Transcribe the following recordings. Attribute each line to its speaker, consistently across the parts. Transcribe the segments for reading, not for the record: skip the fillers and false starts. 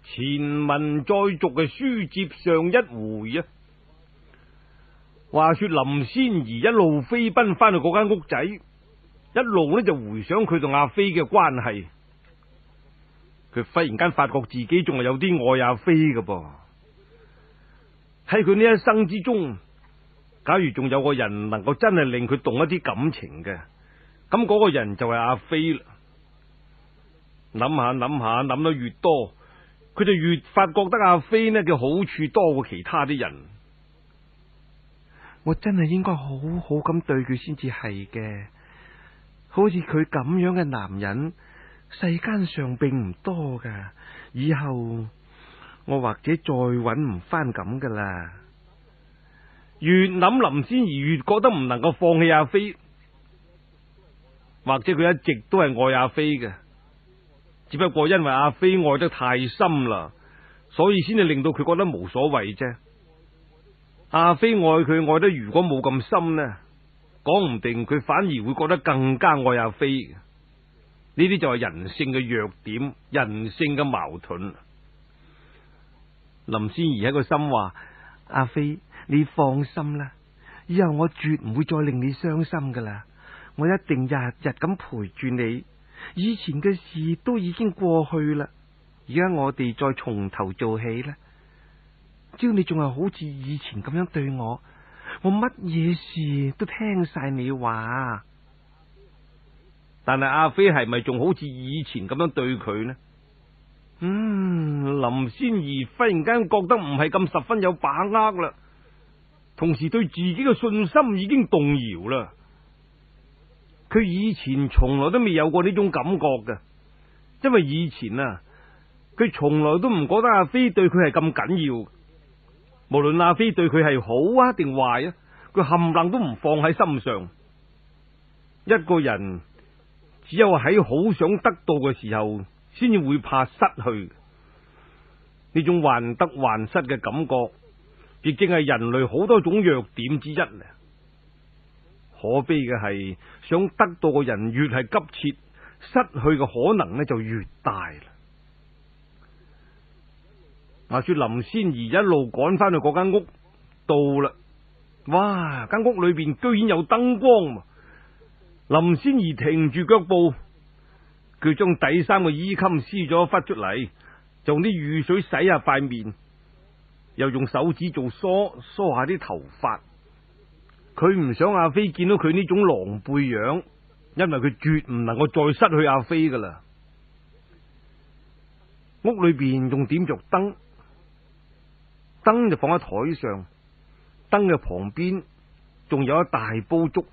Speaker 1: 前文再續嘅書接上一回啊。話說林仙兒一路飛奔翻去嗰間屋仔，一路呢就回想佢同阿飛嘅關係。佢忽然間發覺自己仲係有啲愛阿飛㗎噃。喺佢呢一生之中，假如仲有個人能夠真係令佢動一啲感情嘅，咁嗰個人就係阿飛啦。諗下諗下，諗得越多，佢就越發覺得阿飛呢嘅好處多過其他啲人。
Speaker 2: 我真係應該好好咁對佢先至係嘅。好似佢咁樣嘅男人，世間上並唔多噶。以後我或者再搵唔翻咁噶啦。
Speaker 1: 越諗林仙兒越覺得唔能夠放棄阿飛，或者佢一直都係愛阿飛嘅，只不過因為阿飛愛得太深啦，所以先至令到佢覺得無所謂啫。阿飛愛佢愛得如果冇咁深呢，講唔定佢反而會覺得更加愛阿飛。呢啲就係人性嘅弱點，人性嘅矛盾。
Speaker 2: 林仙兒喺個心話：阿飛，你放心啦，以後我絕唔會再令你傷心噶啦，我一定日日咁陪住你。以前嘅事都已經過去啦，而家我哋再從頭做起啦。只要你仲係好似以前咁樣對我，我乜嘢事都聽晒你話。
Speaker 1: 但係阿飛係咪仲好似以前咁樣對佢呢？林仙兒忽然間覺得唔係咁十分有把握啦，同時對自己嘅信心已經動搖啦。佢以前從來都未有過呢種感覺嘅，因為以前啊，佢從來都唔覺得阿飛對佢係咁緊要。無論阿飛對佢係好啊定壞啊，佢冚唪唥都唔放喺心上。一個人只有喺好想得到嘅時候，先至會怕失去。呢種患得患失嘅感覺，亦正係人類好多種弱點之一啊。可悲嘅係，想得到嘅人越係急切，失去嘅可能呢就越大啦。話說林仙兒一路趕翻去嗰間屋，到啦，哇！間屋裏邊居然有燈光。林仙兒停住腳步，佢將底衫嘅衣襟撕咗一忽出嚟，就用啲雨水洗下塊面，又用手指做梳下啲頭髮。佢唔想阿飛見到佢呢種狼狽樣，因為佢絕唔能夠再失去阿飛噶啦。屋裏邊仲點着燈，燈就放喺台上，燈嘅旁邊仲有一大煲粥。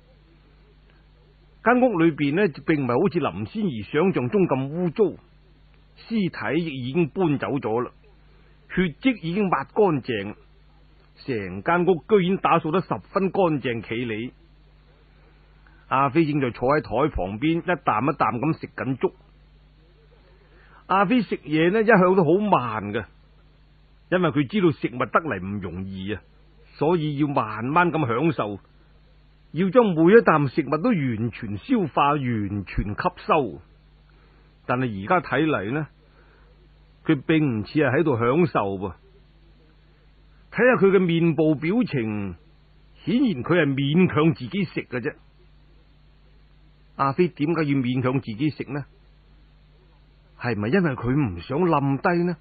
Speaker 1: 間屋裏邊呢，並唔係好似林仙兒想象中咁污糟，屍體亦已經搬走咗啦，血跡已經抹乾淨，成間屋居然打掃得十分乾淨企理。阿飛正在坐喺台旁邊，一啖一啖咁食緊粥。阿飛食嘢呢，一向都好慢嘅，因為佢知道食物得嚟唔容易啊，所以要慢慢咁享受，要將每一啖食物都完全消化、完全吸收。但係而家睇嚟呢，佢並唔似係喺度享受噃。睇下佢嘅面部表情，顯然佢係勉強自己食嘅啫。阿飛點解要勉強自己食呢？係咪因為佢唔想冧低呢？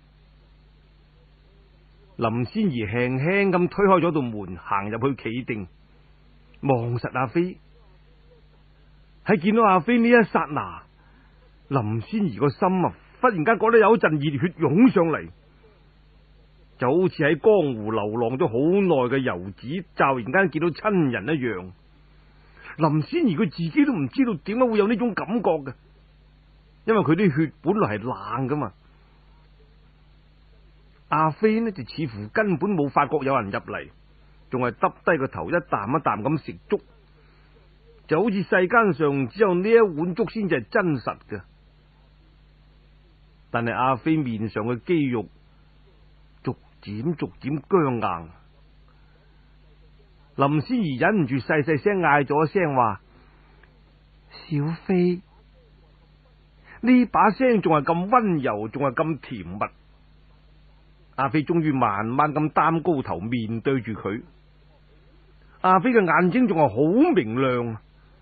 Speaker 1: 林仙兒輕輕咁推開咗道門，行入去企定，望實阿飛。喺見到阿飛呢一剎那，林仙兒個心啊，忽然間覺得有一陣熱血湧上嚟，就好似喺江湖流浪咗好耐嘅游子，驟然間見到親人一樣。林仙兒佢自己都唔知道點解會有呢種感覺嘅，因為佢啲血本來係冷噶嘛。阿飛呢就似乎根本冇發覺有人入嚟，仲係耷低個頭，一啖一啖咁食粥，就好似世間上只有呢一碗粥先至係真實嘅。但係阿飛面上嘅肌肉逐漸僵硬。林仙兒忍唔住細細聲嗌咗一聲話：小飛。呢把聲仲係咁溫柔，仲係咁甜蜜， 阿飛終於慢慢咁擔高頭面對住佢。阿飛嘅眼睛仲係好明亮，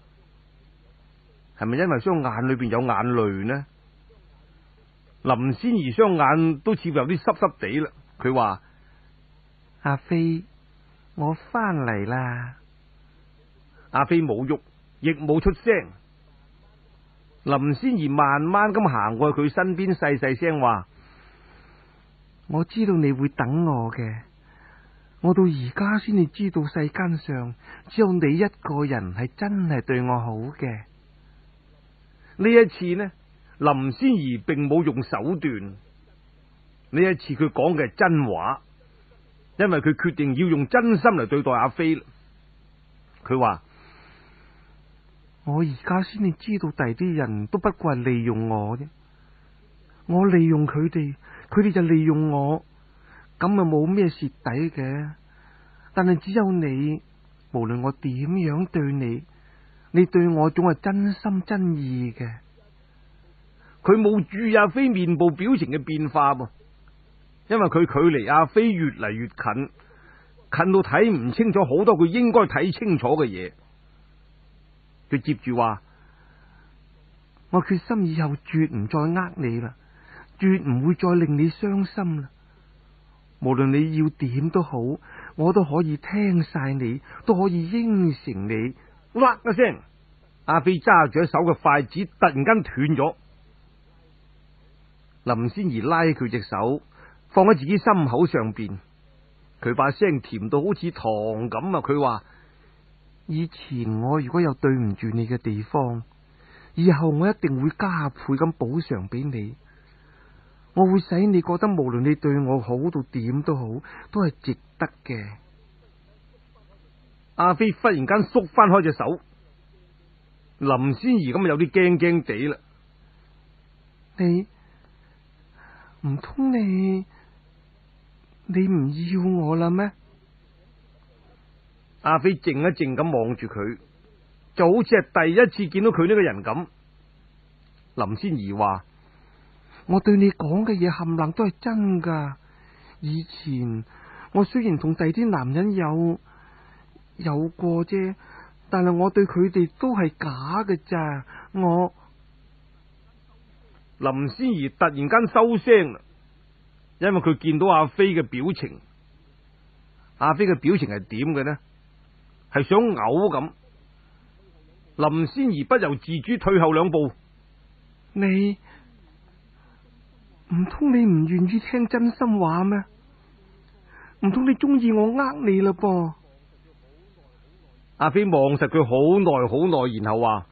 Speaker 1: 係咪因為雙眼裏邊有眼淚呢？林仙兒雙眼都似乎有啲濕濕地啦。佢話：
Speaker 2: 阿飛，我翻嚟啦。
Speaker 1: 阿飛冇喐，亦冇出聲。林仙兒慢慢咁行過去佢身邊，細細聲話：
Speaker 2: 我知道你會等我嘅，我到而家先至知道世間上只有你一個人係真係對我好嘅。
Speaker 1: 呢一次呢，林仙兒並冇用手段。呢一次佢講嘅係真話，因為佢決定要用真心嚟對待阿飛。佢話：
Speaker 2: 我而家先至知道第啲人都不過係利用我啫，我利用佢哋，佢哋就利用我，咁啊冇咩蝕底嘅。但係只有你，無論我點樣對你，你對我總係真心真意嘅。
Speaker 1: 佢冇注意阿飛面部表情嘅變化噃，因為佢距離阿飛越嚟越近，近到睇唔清楚好多佢應該睇清楚嘅嘢。佢接住話：
Speaker 2: 我決心以後絕唔再呃你啦，絕唔會再令你傷心啦。無論你要點都好，我都可以聽晒你，都可以應承你。
Speaker 1: 嘩一聲，阿飛揸住一手嘅筷子突然間斷咗。林仙兒拉佢隻手放喺自己心口上邊，佢把聲甜到好似糖咁啊！佢話：
Speaker 2: 以前我如果有對唔住你嘅地方，以後我一定會加倍咁補償俾你。我會使你覺得無論你對我好到點都好，都係值得嘅。
Speaker 1: 阿飛忽然間縮翻開隻手，林仙兒咁有啲驚驚地啦。
Speaker 2: 你唔通你唔要我啦咩？
Speaker 1: 阿飛靜一靜咁望住佢，就好似係第一次見到佢呢個人咁。林仙兒話：
Speaker 2: 我對你講嘅嘢冚唪唥都係真噶。以前我雖然同第啲男人有過啫，但係我對佢哋都係假嘅咋。
Speaker 1: 林仙兒突然間收聲啦，因為佢見到阿飛嘅表情。阿飛嘅表情係點嘅呢？係想嘔咁。林仙兒不由自主退後兩步。
Speaker 2: 你唔通你唔願意聽真心話咩？唔通你中意我呃你啦噃？
Speaker 1: 阿飛望實佢好耐好耐，然後話：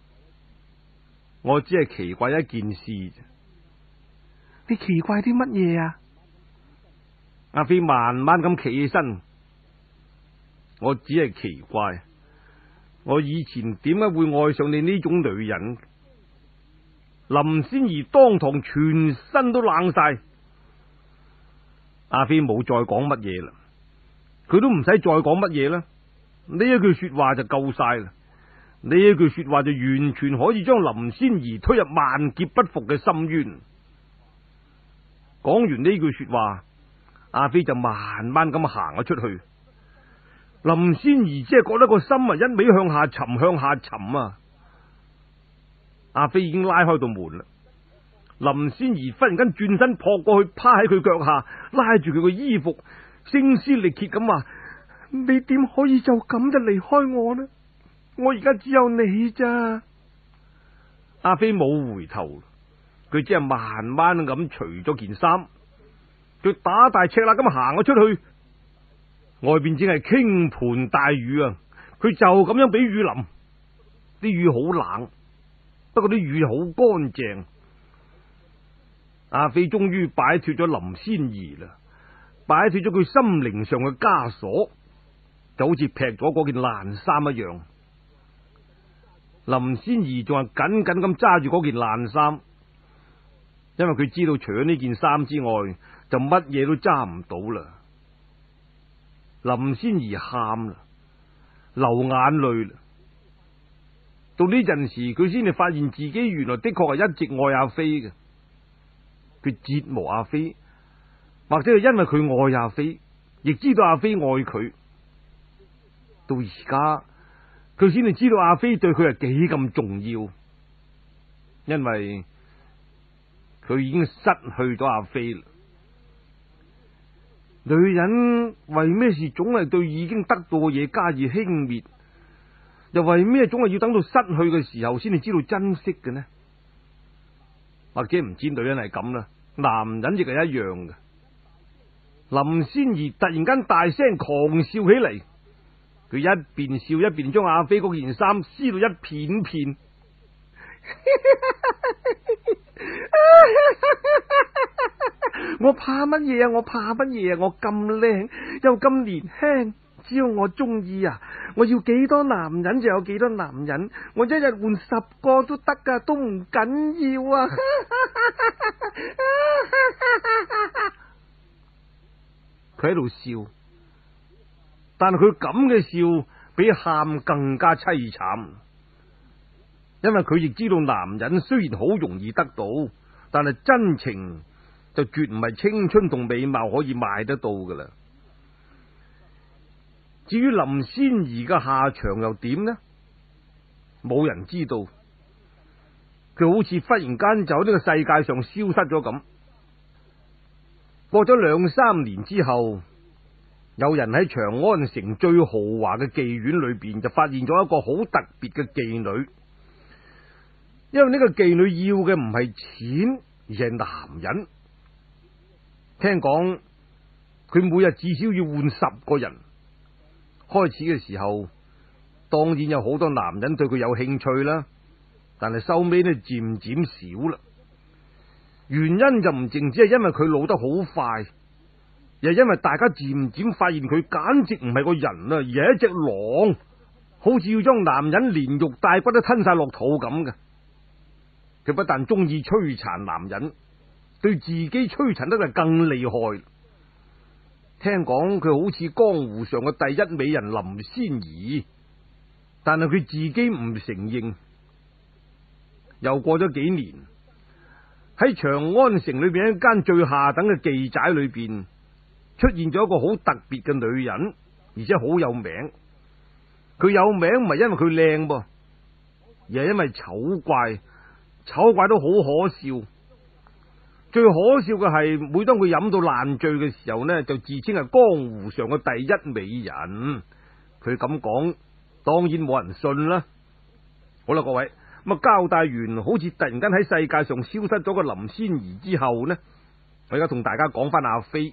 Speaker 1: 我只係奇怪一件事啫。
Speaker 2: 你奇怪啲乜嘢啊？
Speaker 1: 阿飛慢慢咁企起身，我只係奇怪，我以前點解會愛上你呢種女人？林仙兒當堂全身都冷晒。阿飛冇再講乜嘢啦，佢都唔使再講乜嘢啦。呢一句說話就夠晒啦，呢一句說話就完全可以將林仙兒推入萬劫不復嘅深淵。講完呢句說話，阿飛就慢慢咁行咗出去。林仙兒只係覺得個心啊一味向下沉，向下沉啊！阿飛已經拉開道門啦，林仙兒忽然間轉身撲過去，趴喺佢腳下，拉住佢個衣服，聲嘶力竭咁話：你點可以就咁就離開我呢？我而家只有你咋。阿飛冇回頭，佢只係慢慢咁除咗件衫，佢打大赤肋咁行咗出去。外邊正係傾盆大雨啊！佢就咁樣俾雨淋，啲雨好冷，不過啲雨好乾淨。阿飛終於擺脫咗林仙兒啦，擺脫咗佢心靈上嘅枷鎖，就好似劈咗嗰件爛衫一樣。林仙兒仲係緊緊咁揸住嗰件爛衫，因為佢知道除咗呢件衫之外，就乜嘢都揸唔到啦。林仙兒喊啦，流眼淚啦。到呢陣時，佢先至發現自己原來的確係一直愛阿飛嘅。佢折磨阿飛， 或者係因為佢愛阿飛，亦知道阿飛愛佢，到而家佢先至知道阿飛對佢係幾咁重要，因為佢已經失去咗阿飛啦。女人為咩事總係對已經得到嘅嘢加以輕蔑，又為咩總係要等到失去嘅時候先至知道珍惜嘅呢？或者唔知女人係咁啦，男人亦係一樣嘅。林仙兒突然間大聲狂笑起嚟，佢一邊笑一邊將阿飛嗰件衫撕到一片片。我怕乜嘢啊？我怕乜嘢啊？我咁靚又咁年輕，只要我中意啊！我要幾多男人就有幾多男人，我一日換10個都得噶，都唔緊要啊！佢喺度笑，但係佢咁嘅笑比喊更加淒慘，因為佢亦知道男人雖然好容易得到，但係真情就絕唔係青春同美貌可以買得到噶啦。至於林仙兒嘅下場又點呢？冇人知道，佢好似忽然間就喺呢個世界上消失咗咁。過咗2、3年之後，有人喺長安城最豪華嘅妓院裏邊就發現咗一個好特別嘅妓女，因為呢個妓女要嘅唔係錢，而係男人。聽講佢每日至少要換10個人。開始嘅時候，當然有好多男人對佢有興趣啦，但係收尾呢漸漸少啦。原因就唔淨止係因為佢老得好快，而係因為大家漸漸發現佢簡直唔係個人啊，而係一隻狼，好似要將男人連肉帶骨都吞晒落肚咁嘅。佢不但中意摧殘男人，對自己摧殘得就更厲害。聽講佢好似江湖上嘅第一美人林仙兒，但係佢自己唔承認。又過咗幾年，喺長安城裏邊一間最下等嘅妓寨裏邊，出現咗一個好特別嘅女人，而且好有名。佢有名唔係因為佢靚噃，而係因為醜怪，醜怪都好可笑。最可笑嘅係，每當佢飲到爛醉嘅時候呢，就自稱係江湖上嘅第一美人。佢咁講，當然冇人信啦。好啦，各位，咁啊交代完，好似突然間喺世界上消失咗個林仙兒之後呢，我而家同大家講翻阿飛。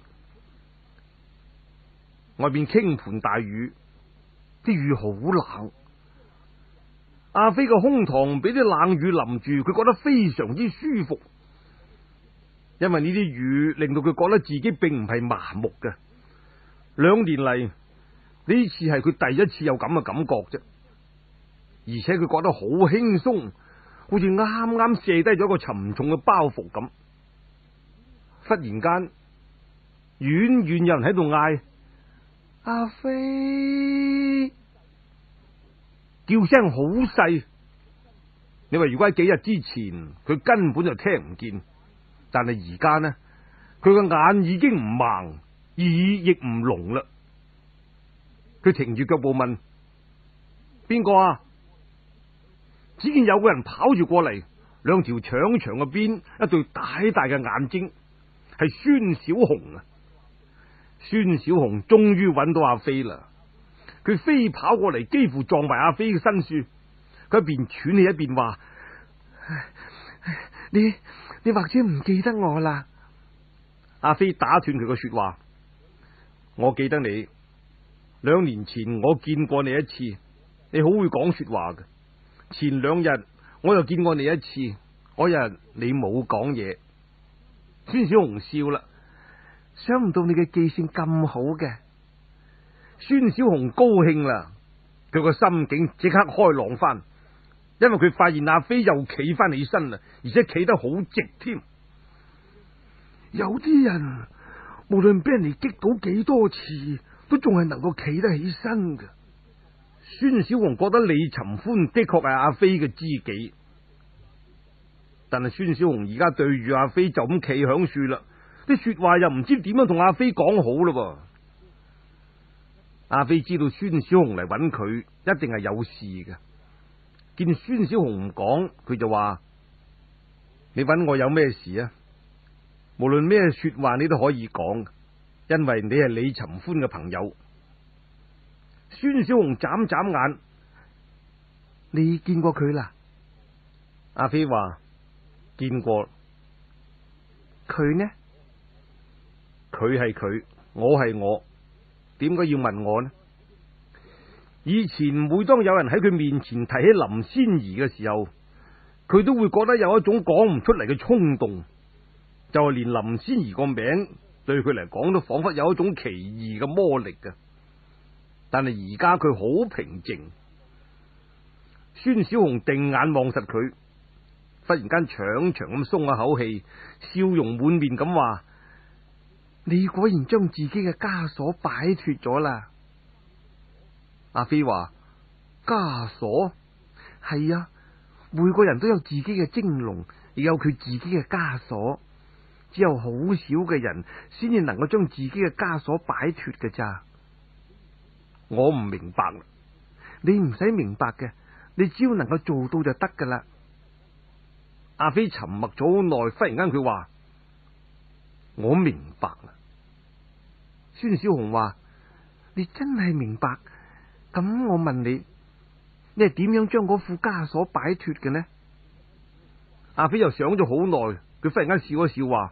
Speaker 1: 外邊傾盆大雨，啲雨好冷。阿飛個胸膛俾啲冷雨淋住，佢覺得非常之舒服。因為呢啲雨令到佢覺得自己並唔係麻木嘅。2年嚟，呢次係佢第一次有咁嘅感覺啫，而且佢覺得好輕鬆，好似啱啱卸低咗一個沉重嘅包袱咁。忽然間，遠遠有人喺度嗌：阿飛！叫聲好細，你話如果喺幾日之前，佢根本就聽唔見。但係而家呢，佢個眼已經唔盲，耳亦唔聾啦。佢停住腳步問：邊個啊？只見有個人跑住過嚟，2條長長嘅鞭，一對大大嘅眼睛，係孫小紅啊！孫小紅終於揾到阿飛啦，佢飛跑過嚟，幾乎撞埋阿飛嘅身處。佢一邊喘氣一邊話：你或者唔記得我啦？阿飛打斷佢嘅說話：我記得你，2年前我見過你一次，你好會講說話嘅。前2日我又見過你一次，嗰日你冇講嘢。孫小紅笑啦，想唔到你嘅記性咁好嘅。孫小紅高興啦，佢個心境即刻開朗翻。因為佢發現阿飛又企翻起身啦，而且企得好直添。有啲人無論俾人哋擊倒幾多次，都仲係能夠企得起身嘅。孫小紅覺得李尋歡的確係阿飛嘅知己，但係孫小紅而家對住阿飛就咁企響樹啦， 啲說話又唔知點樣同阿飛講好咯。阿飛知道孫小紅嚟揾佢，一定係有事嘅。見孫小紅唔講，佢就話：你揾我有咩事啊？無論咩說話你都可以講，因為你係李尋歡嘅朋友。孫小紅眨眨眼：你見過佢啦？阿飛話：見過。佢呢？佢係佢，我係我，點解要問我呢？以前每當有人喺佢面前提起林仙兒嘅時候，佢都會覺得有一種講唔出嚟嘅衝動，就係連林仙兒個名對佢嚟講都仿佛有一種奇異嘅魔力嘅。但係而家佢好平靜。孫小紅定眼望實佢，忽然間長長咁鬆一口氣，笑容滿面咁話：你果然將自己嘅枷鎖擺脫咗啦。阿飛話：枷鎖？係啊，每個人都有自己嘅蒸籠，亦有佢自己嘅枷鎖，只有好少嘅人先至能夠將自己嘅枷鎖擺脫嘅咋。我唔明白啦。你唔使明白嘅，你只要能夠做到就得噶啦。阿飛沉默咗好耐，忽然間佢話：我明白啦。孫小紅話：你真係明白？咁我問你，你係點樣將嗰副枷鎖擺脫嘅呢？阿飛又想咗好耐，佢忽然間笑一笑話：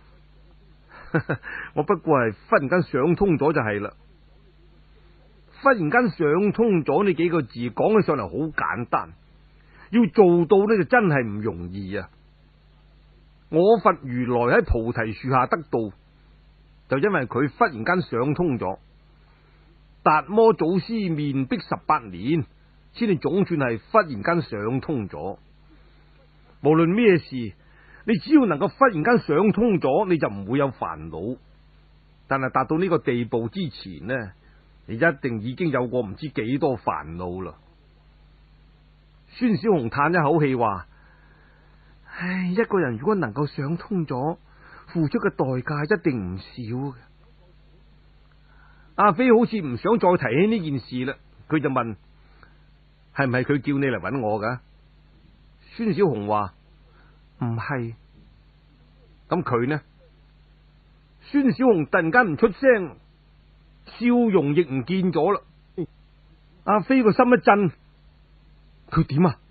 Speaker 1: 我不過係忽然間想通咗就係啦。忽然間想通咗呢幾個字講起上嚟好簡單，要做到呢就真係唔容易啊！我佛如來喺菩提樹下得道，就因為佢忽然間想通咗。達摩祖師面壁18年，先至總算係忽然間想通咗。無論咩事，你只要能夠忽然間想通咗，你就唔會有煩惱。但係達到呢個地步之前呢，你一定已經有過唔知幾多煩惱啦。孫小紅嘆一口氣話：唉，一個人如果能夠想通咗，付出嘅代價一定唔少嘅。阿飛好似唔想再提起呢件事啦，佢就問：係唔係佢叫你嚟揾我噶？孫小紅話：唔係。咁佢呢？孫小紅突然間唔出聲，笑容亦唔見咗啦。阿飛個心一震，佢點啊？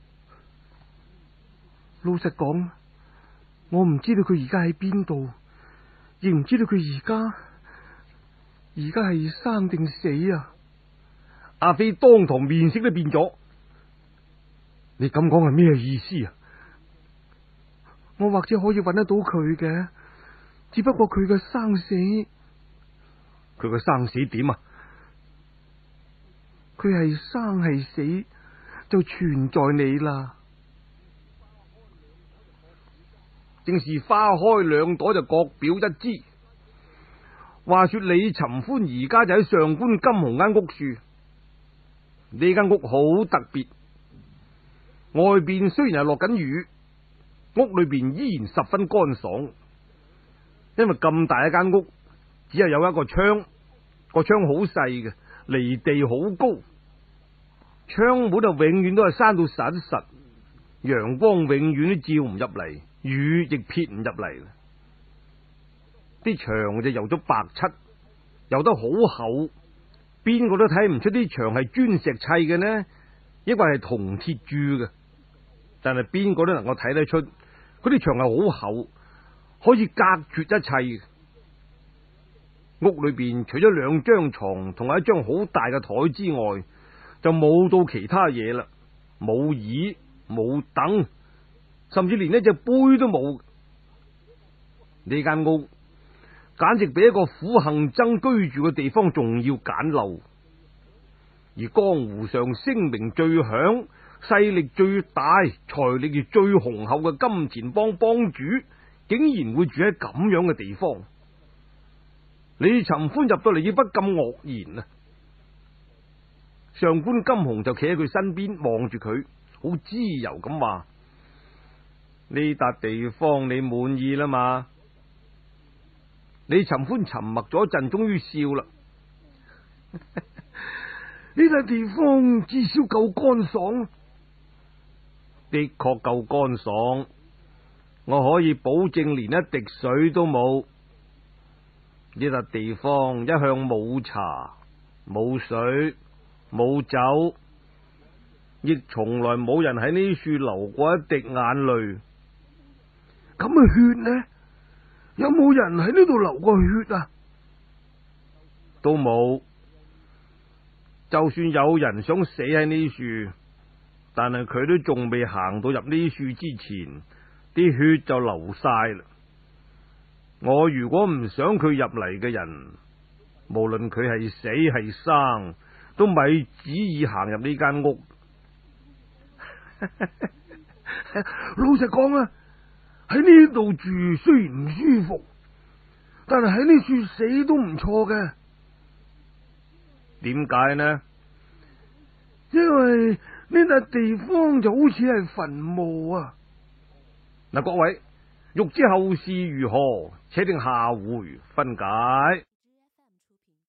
Speaker 1: 老實講，我唔知道佢而家喺邊度，亦唔知道佢而家係生定死啊！阿飛當堂面色都變咗。你咁講係咩意思啊？我或者可以揾得到佢嘅，只不過佢嘅生死，佢嘅生死點啊？佢係生係死就全在你啦。正是花開兩朵就各表一枝。話說李尋歡而家就喺上官金鴻間屋住，呢間屋好特別，外邊雖然係落緊雨，屋裏邊依然十分乾爽。因為咁大一間屋，只係有一個窗，個窗好細嘅，離地好高，窗門就永遠都係閂到實實，陽光永遠都照唔入嚟，雨亦撇唔入嚟。啲牆就油咗白漆，油得好厚，邊個都睇唔出啲牆係磚石砌嘅呢，抑或係銅鐵鑄嘅。但係邊個都能夠睇得出，嗰啲牆係好厚，可以隔絕一切。屋裏邊除咗2張床同埋一張好大嘅台之外，就冇到其他嘢啦，冇椅冇凳，甚至連一隻杯都冇。呢間屋簡直比一個苦行僧居住嘅地方仲要簡陋，而江湖上聲名最響、勢力最大、財力亦最雄厚嘅金錢幫幫主，竟然會住喺咁樣嘅地方。李尋歡入到嚟，亦不禁愕然啊！上官金鴻就企喺佢身邊望住佢，好自由咁話：呢笪地方你滿意啦嘛？ 李尋歡沉默咗一陣，終於笑啦。
Speaker 2: 呢笪地方至少夠乾爽，
Speaker 1: 的確夠乾爽，我可以保證連一滴水都冇。呢笪地方一向冇茶、冇水、冇酒，亦從來冇人喺呢處流過一滴眼淚。
Speaker 2: 咁嘅血呢？有冇人喺呢度流過血啊？
Speaker 1: 都冇。就算有人想死喺呢處，但係佢都仲未行到入呢處之前，啲血就流晒啦。我如果唔想佢入嚟嘅人，無論佢係死係生，都咪旨意行入呢間屋。
Speaker 2: 老實講啊，喺呢度住雖然唔舒服，但係喺呢處死都唔錯嘅。
Speaker 1: 點解呢？
Speaker 2: 因為呢笪地方就好似係墳墓啊！
Speaker 1: 嗱，各位欲知後事如何，且聽下回分解。